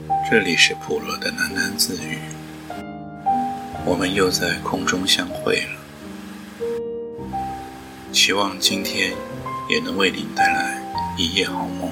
这里是普罗的喃喃自语，我们又在空中相会了。希望今天也能为您带来一夜好梦。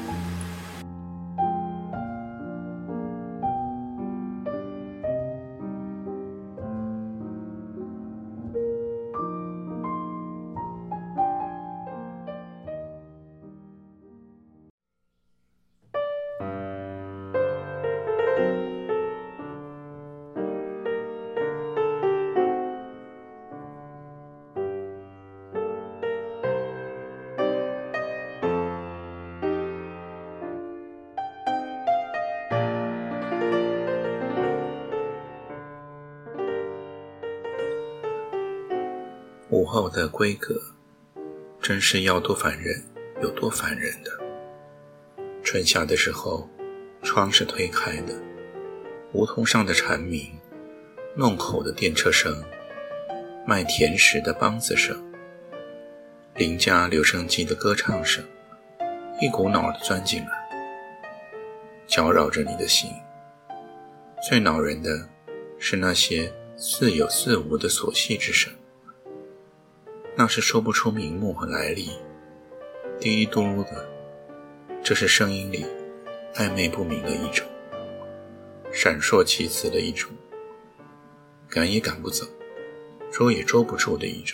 午后的闺阁，真是要多烦人有多烦人的。春夏的时候，窗是推开的，胡同上的蝉鸣，弄口的电车声，卖甜食的梆子声，邻家留声机的歌唱声，一股脑地钻进来，搅扰着你的心。最恼人的是那些似有似无的琐细之声，那是说不出名目和来历，滴滴嘟噜的，这是声音里暧昧不明的一种，闪烁其词的一种，赶也赶不走，捉也捉不住的一种。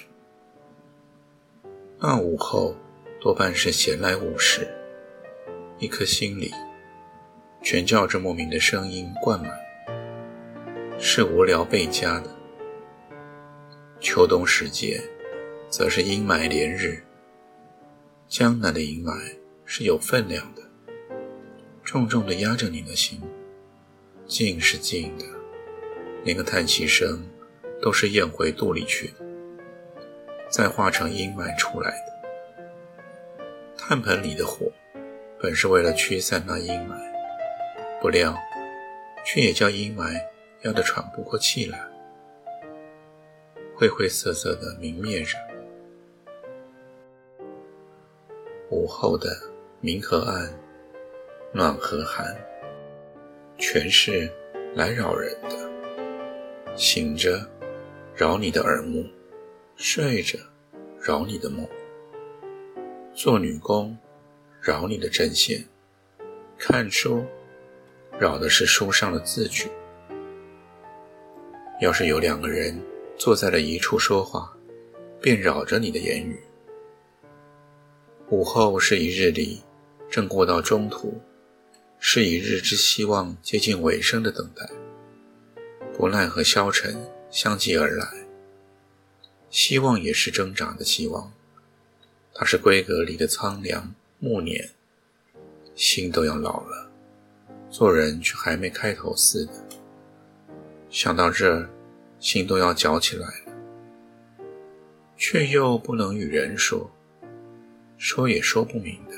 那午后多半是闲来无事，一颗心里全叫这莫名的声音灌满，是无聊倍加的。秋冬时节则是阴霾连日，江南的阴霾是有分量的，重重地压着你的心，静是静的，连个叹息声都是咽回肚里去的，再化成阴霾出来的。炭盆里的火本是为了驱散那阴霾，不料却也叫阴霾压得喘不过气来，灰灰色色的明灭着。午后的明和暗，暖和寒，全是来扰人的。醒着扰你的耳目，睡着扰你的梦，做女工扰你的针线，看书扰的是书上的字句。要是有两个人坐在了一处说话，便扰着你的言语。午后是一日里正过到中途，是一日之希望接近尾声的等待，不奈和消沉相继而来。希望也是挣扎的希望，它是闺阁里的苍凉暮年，心都要老了，做人却还没开头似的。想到这儿，心都要绞起来了，却又不能与人说，说也说不明的。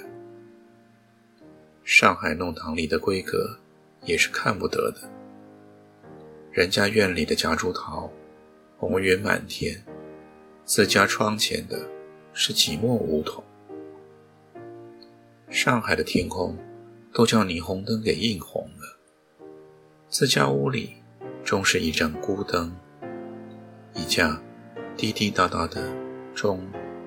上海弄堂里的闺阁也是看不得的，人家院里的夹竹桃红云满天，自家窗前的是几墨梧桐。上海的天空都叫霓虹灯给映红了，自家屋里终是一盏孤灯，一架滴滴答答的钟，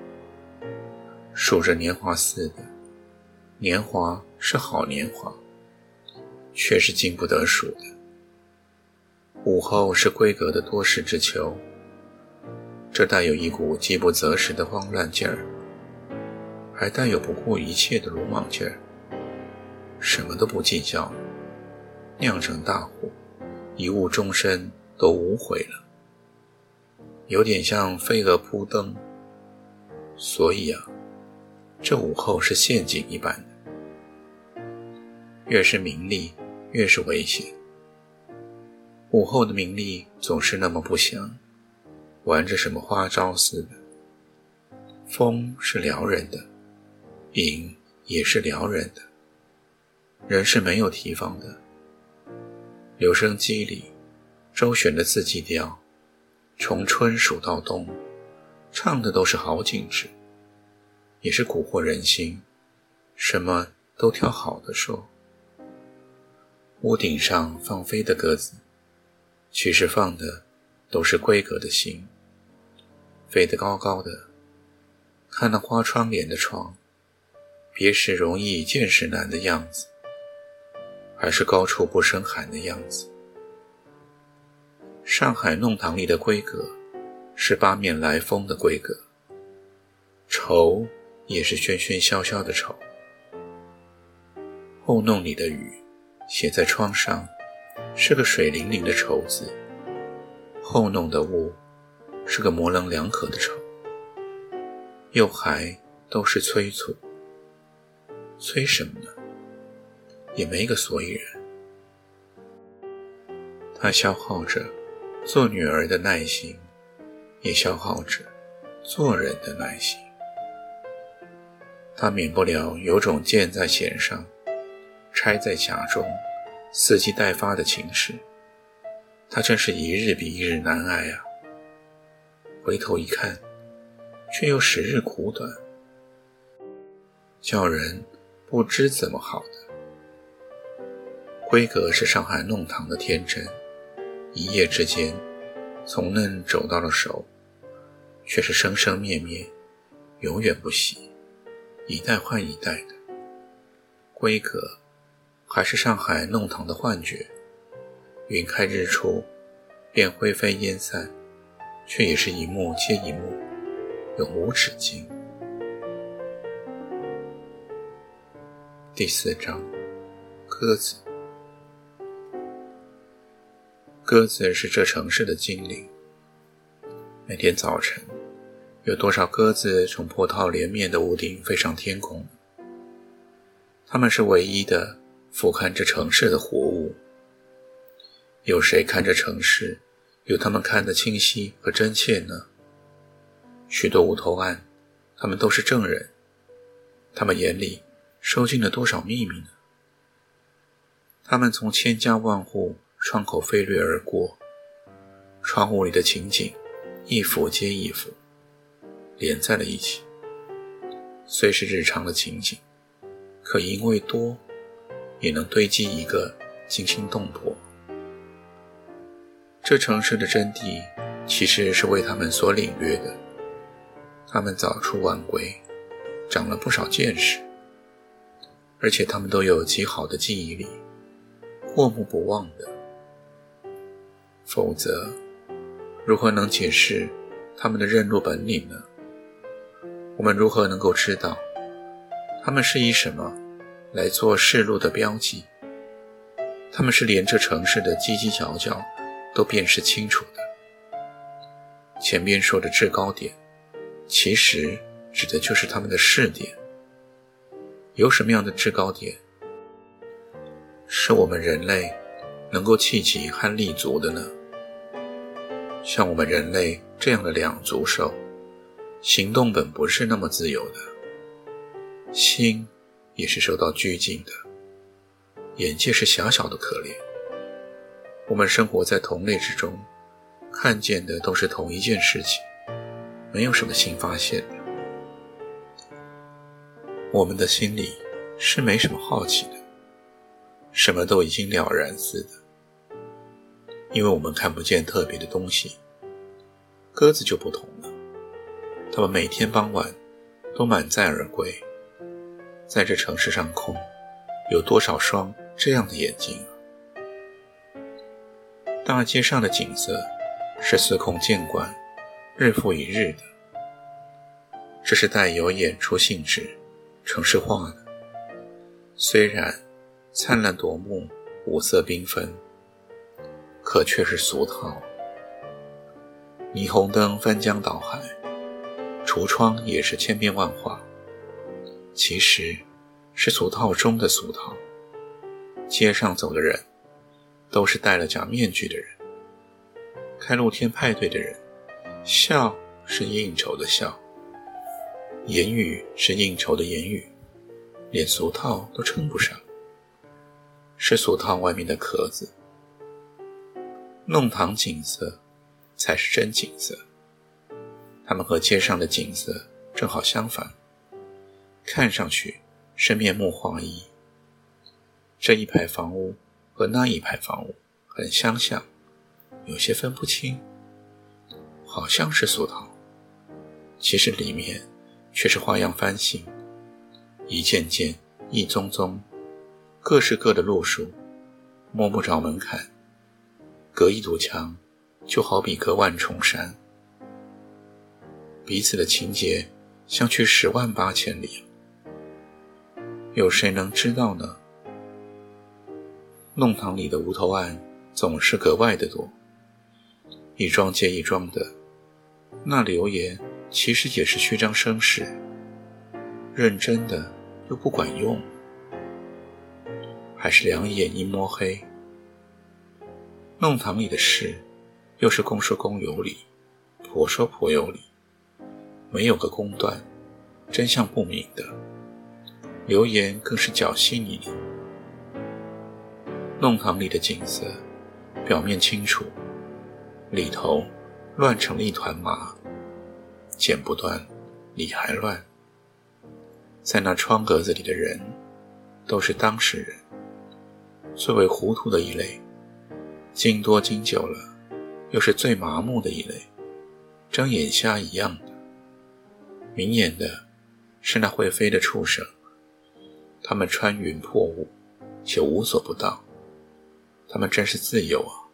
数着年华似的。年华是好年华，却是经不得数的。午后是闺阁的多事之秋，这带有一股饥不择食的慌乱劲儿，还带有不顾一切的鲁莽劲儿，什么都不计较了，酿成大祸，一误终身都无悔了，有点像飞蛾扑灯。所以啊，这午后是陷阱一般的，越是名利越是危险。午后的名利总是那么不祥，玩着什么花招似的。风是撩人的，影也是撩人的，人是没有提防的。留声机里周旋的四季调，从春数到冬，唱的都是好景致，也是蛊惑人心，什么都挑好的说。 屋顶上放飞的鸽子，其实放的都是闺阁的心，飞得高高的，看那花窗帘的窗，别时容易见时难的样子，还是高处不胜寒的样子。上海弄堂里的闺阁是八面来风的闺阁，愁也是喧喧嚣嚣的愁。后弄里的雨写在窗上是个水灵灵的愁字，后弄的雾是个模棱两可的愁，又还都是催促。催什么呢？也没个所以然。它消耗着做女儿的耐心，也消耗着做人的耐心。它免不了有种箭在弦上，钗在匣中，伺机待发的情势。它真是一日比一日难挨啊！回头一看，却又时日苦短，叫人不知怎么好的。闺阁是上海弄堂的天真，一夜之间从嫩走到了熟，却是生生灭灭，永远不息，一代换一代的。闺阁还是上海弄堂的幻觉，云开日出，便灰飞烟散，却也是一幕接一幕，永无止境。第4章，鸽子。鸽子是这城市的精灵。每天早晨，有多少鸽子从波涛连绵的屋顶飞上天空？它们是唯一的俯瞰着城市的活物。有谁看着城市有它们看得清晰和真切呢？许多无头案，他们都是证人，他们眼里收进了多少秘密呢？他们从千家万户窗口飞掠而过，窗户里的情景一幅接一幅连在了一起。虽是日常的情景，可因为多，也能堆积一个惊心动魄。这城市的真谛其实是为他们所领略的。他们早出晚归，长了不少见识，而且他们都有极好的记忆力，过目不忘的。否则，如何能解释他们的认路本领呢？我们如何能够知道他们是以什么来做示路的标记？他们是连这城市的犄犄角角都辨识清楚的。前边说的制高点，其实指的就是他们的视点。有什么样的制高点，是我们人类能够企及和立足的呢？像我们人类这样的两足兽，行动本不是那么自由的，心也是受到拘禁的，眼界是狭小的可怜。我们生活在同类之中，看见的都是同一件事情，没有什么新发现的。我们的心里是没什么好奇的，什么都已经了然似的，因为我们看不见特别的东西。鸽子就不同了，它们每天傍晚都满载而归。在这城市上空，有多少双这样的眼睛啊？大街上的景色是司空见惯，日复一日的，这是带有演出性质、城市化的。虽然灿烂夺目，五色缤纷，可却是俗套。霓虹灯翻江倒海，橱窗也是千变万化，其实是俗套中的俗套。街上走的人都是戴了假面具的人，开露天派对的人，笑是应酬的笑，言语是应酬的言语，连俗套都称不上，是俗套外面的壳子。弄堂景色才是真景色，它们和街上的景色正好相反，看上去是面目画意。这一排房屋和和那一排房屋很相像，有些分不清，好像是俗套，其实里面却是花样翻新，一件件，一宗宗，各是各的路数，摸不着门槛，隔一堵墙就好比隔万重山，彼此的情节相去108000里，有谁能知道呢？弄堂里的无头案总是格外的多，一桩接一桩的，那流言其实也是虚张声势，认真的又不管用，还是两眼一摸黑。弄堂里的事又是公说公有理，婆说婆有理，没有个公断，真相不明的，流言更是搅稀泥里。弄堂里的景色表面清楚，里头乱成了一团麻，剪不断，理还乱。在那窗格子里的人都是当事人，最为糊涂的一类，经多经久了又是最麻木的一类，睁眼瞎一样的。明眼的是那会飞的畜生，他们穿云破雾，且无所不到，他们真是自由啊！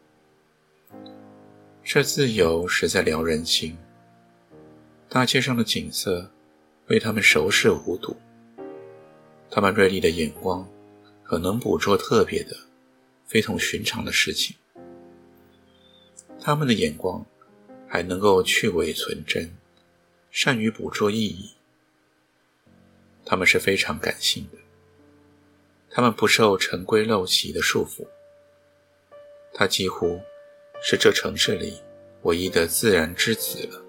这自由实在撩人心，大街上的景色为他们熟视无睹，他们锐利的眼光可能捕捉特别的非同寻常的事情，他们的眼光还能够去伪存真，善于捕捉意义。他们是非常感性的，他们不受陈规陋习的束缚，他几乎是这城市里唯一的自然之子了。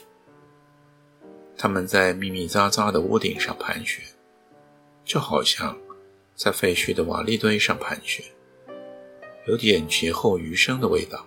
他们在密密匝匝的屋顶上盘旋，就好像在废墟的瓦砾堆上盘旋，有点劫后余生的味道，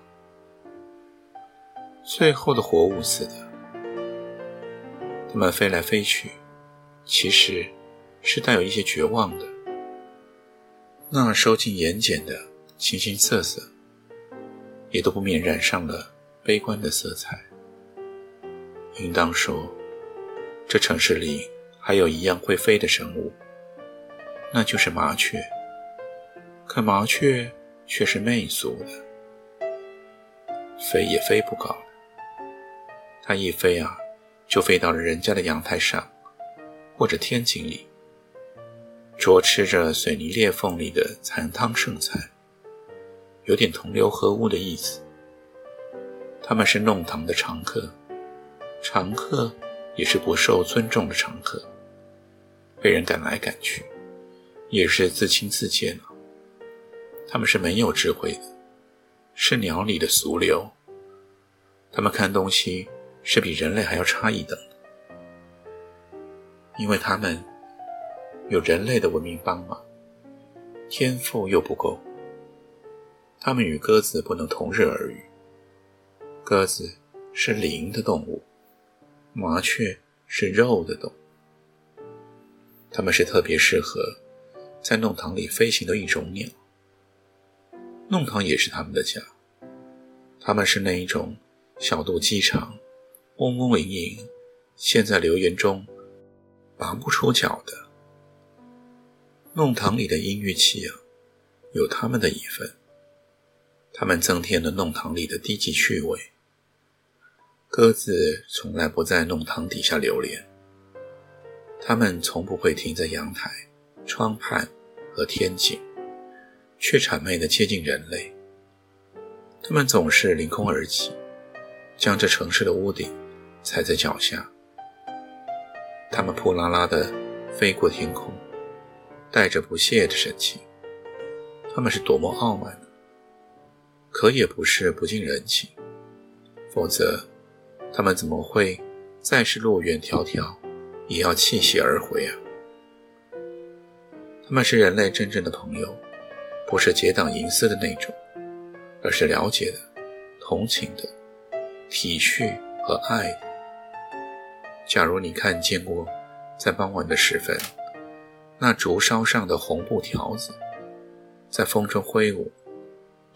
最后的活物似的。他们飞来飞去，其实是带有一些绝望的，那收进眼睑的形形色色也都不免染上了悲观的色彩。应当说，这城市里还有一样会飞的生物，那就是麻雀。可麻雀却是媚俗的，飞也飞不高了，它一飞啊，就飞到了人家的阳台上或者天井里，啄吃着水泥裂缝里的残汤剩菜，有点同流合污的意思。他们是弄堂的常客，常客也是不受尊重的常客，被人赶来赶去，也是自轻自贱了。他们是没有智慧的，是鸟里的俗流，他们看东西是比人类还要差一等的，因为他们有人类的文明帮忙，天赋又不够，他们与鸽子不能同日而语。鸽子是灵的动物，麻雀是肉的动物，它们是特别适合在弄堂里飞行的一种鸟。弄堂也是他们的家，他们是那一种小肚鸡肠，嗡嗡营营，陷在流言中拔不出脚的。弄堂里的音乐器啊，有他们的一份，他们增添了弄堂里的低级趣味。鸽子从来不在弄堂底下流连，它们从不会停在阳台、窗畔和天井，却谄媚地接近人类。它们总是凌空而起，将这城市的屋顶踩在脚下。它们扑啦啦地飞过天空，带着不屑的神情。它们是多么傲慢呢？可也不是不近人情，否则他们怎么会再是路远迢迢也要弃隙而回啊？他们是人类真正的朋友，不是结党营私的那种，而是了解的、同情的、体恤和爱的。假如你看见过在傍晚的时分，那竹梢上的红布条子在风中挥舞，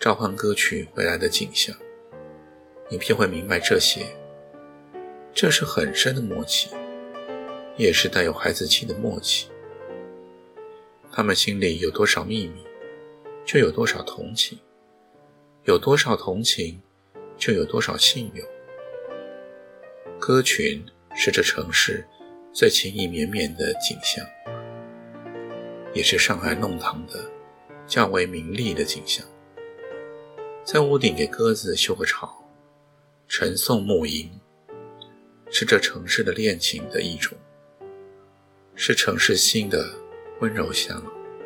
召唤歌曲回来的景象，你便会明白这些。这是很深的默契，也是带有孩子气的默契。他们心里有多少秘密，就有多少同情，有多少同情，就有多少信用。歌群是这城市最情意绵绵的景象，也是上海弄堂的较为明丽的景象。在屋顶给鸽子修个巢，晨诵暮吟，是这城市的恋情的一种，是城市心的温柔乡。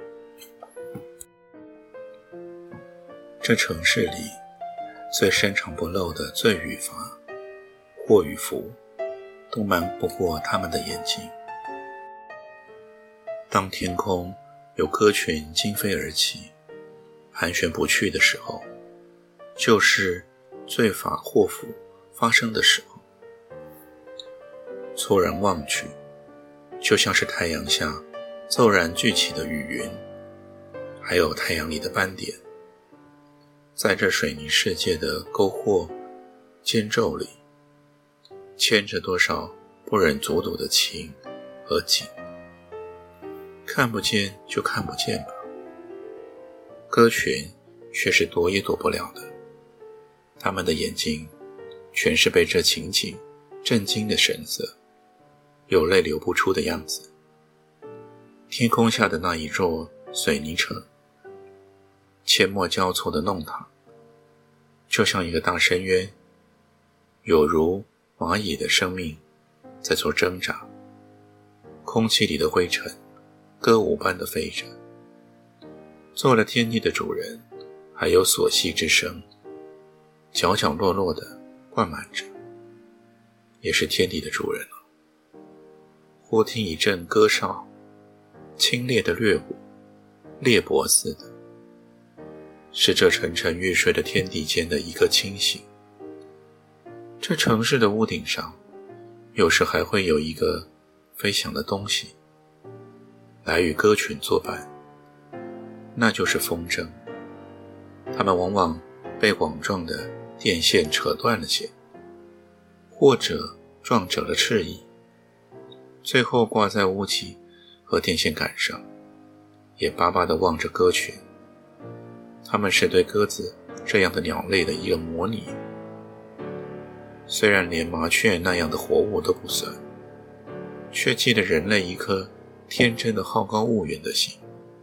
这城市里最深藏不露的罪与罚，祸与福，都瞒不过他们的眼睛。当天空有歌群惊飞而起，盘旋不去的时候，就是罪罚祸福发生的时候。猝然望去，就像是太阳下骤然聚起的雨云，还有太阳里的斑点，在这水泥世界的沟壑间皱里，牵着多少不忍卒睹的情和景。看不见就看不见吧，歌群却是躲也躲不了的。他们的眼睛全是被这情景震惊的神色，有泪流不出的样子。天空下的那一座水泥城，阡陌交错的弄堂，就像一个大深渊，有如蚂蚁的生命在做挣扎。空气里的灰尘歌舞般的飞着，做了天地的主人，还有索息之声，角角落落的灌满着，也是天地的主人了。忽听一阵歌哨，清冽的掠舞，裂帛似的，是这沉沉欲睡的天地间的一个清醒。这城市的屋顶上，有时还会有一个飞翔的东西，来与歌群作伴，那就是风筝。它们往往被网状的电线扯断了线，或者撞折了翅翼，最后挂在屋脊和电线杆上，也巴巴地望着歌群。它们是对鸽子这样的鸟类的一个模拟，虽然连麻雀那样的活物都不算，却记得人类一颗天真的好高骛远的心。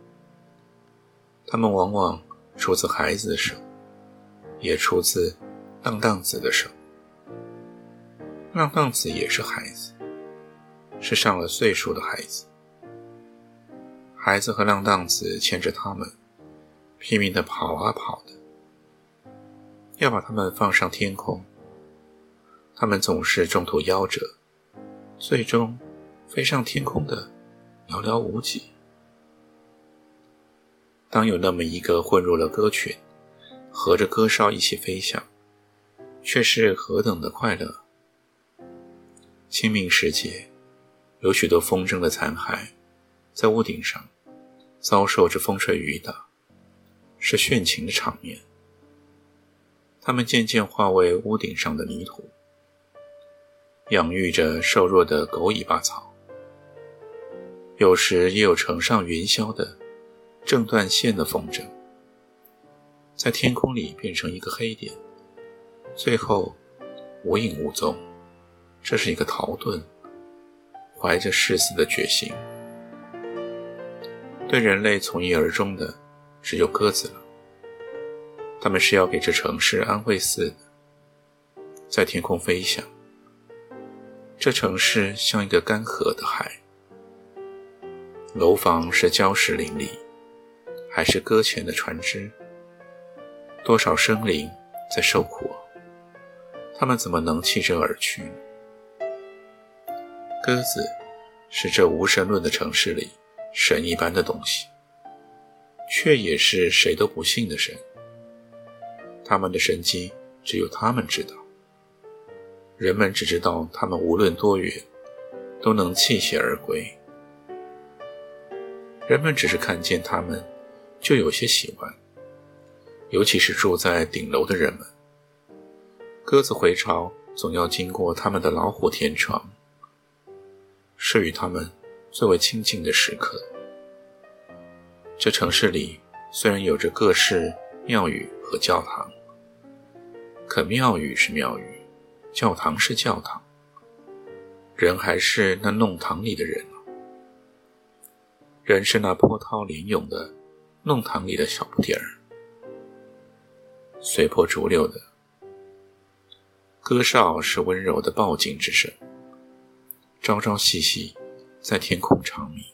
它们往往出自孩子的手，也出自浪荡子的手。浪荡子也是孩子，是上了岁数的孩子。孩子和浪荡子牵着他们，拼命地跑啊跑的，要把他们放上天空。他们总是中途夭折，最终飞上天空的寥寥无几。当有那么一个混入了歌群，和着歌哨一起飞翔，却是何等的快乐。清明时节，有许多风筝的残骸在屋顶上遭受着风吹雨打，是炫情的场面。它们渐渐化为屋顶上的泥土，养育着瘦弱的狗尾巴草。有时也有乘上云霄的正断线的风筝，在天空里变成一个黑点，最后无影无踪。这是一个逃遁，怀着誓死的决心。对人类从一而终的只有鸽子了，它们是要给这城市安慰似的，在天空飞翔。这城市像一个干涸的海，楼房是礁石林立，还是搁浅的船只？多少生灵在受苦，他们怎么能弃之而去呢？鸽子是这无神论的城市里神一般的东西，却也是谁都不信的神。他们的神迹只有他们知道，人们只知道他们无论多远都能弃血而归。人们只是看见他们就有些喜欢， 尤其是住在顶楼的人们。鸽子回巢总要经过他们的老虎天窗，是与他们最为亲近的时刻。这城市里虽然有着各式庙宇和教堂，可庙宇是庙宇，教堂是教堂，人还是那弄堂里的人，人是那波涛涟涌的弄堂里的小不点儿，随波逐流的。歌哨是温柔的报警之声，朝朝夕夕在天空长鸣。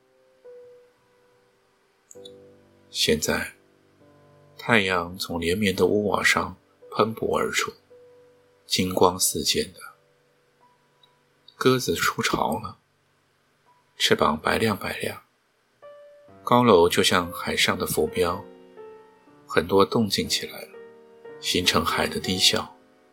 现在太阳从连绵的屋瓦上喷薄而出，金光四溅的。鸽子出巢了，翅膀白亮白亮，高楼就像海上的浮标，很多动静起来了，形成海的低笑。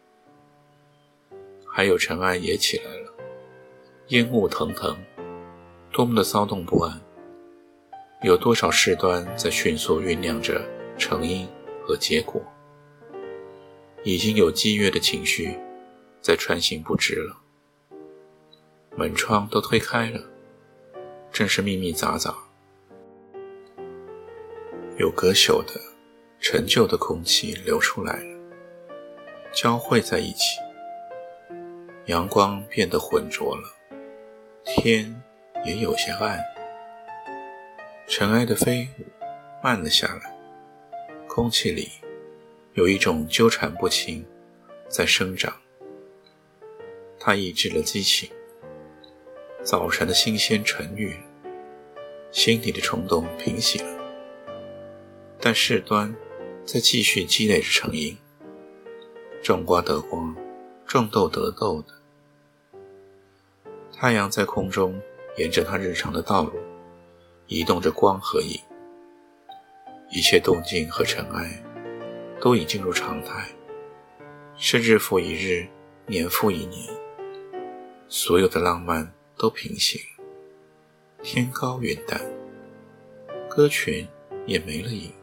还有尘埃也起来了，烟雾腾腾，多么的骚动不安，有多少事端在迅速酝酿着成因和结果，已经有激越的情绪在穿行不止了。门窗都推开了，正是密密杂杂，有隔朽的陈旧的空气流出来了，交汇在一起，阳光变得浑浊了，天也有些暗，尘埃的飞舞慢了下来，空气里有一种纠缠不清在生长，它抑制了激情，早晨的新鲜沉郁了，心里的冲动平息了，但事端在继续积累着成因，种瓜得瓜，种豆得豆的。太阳在空中沿着它日常的道路移动着光和影，一切动静和尘埃都已进入常态，是日复一日，年复一年，所有的浪漫都平息了，天高云淡，歌群也没了影。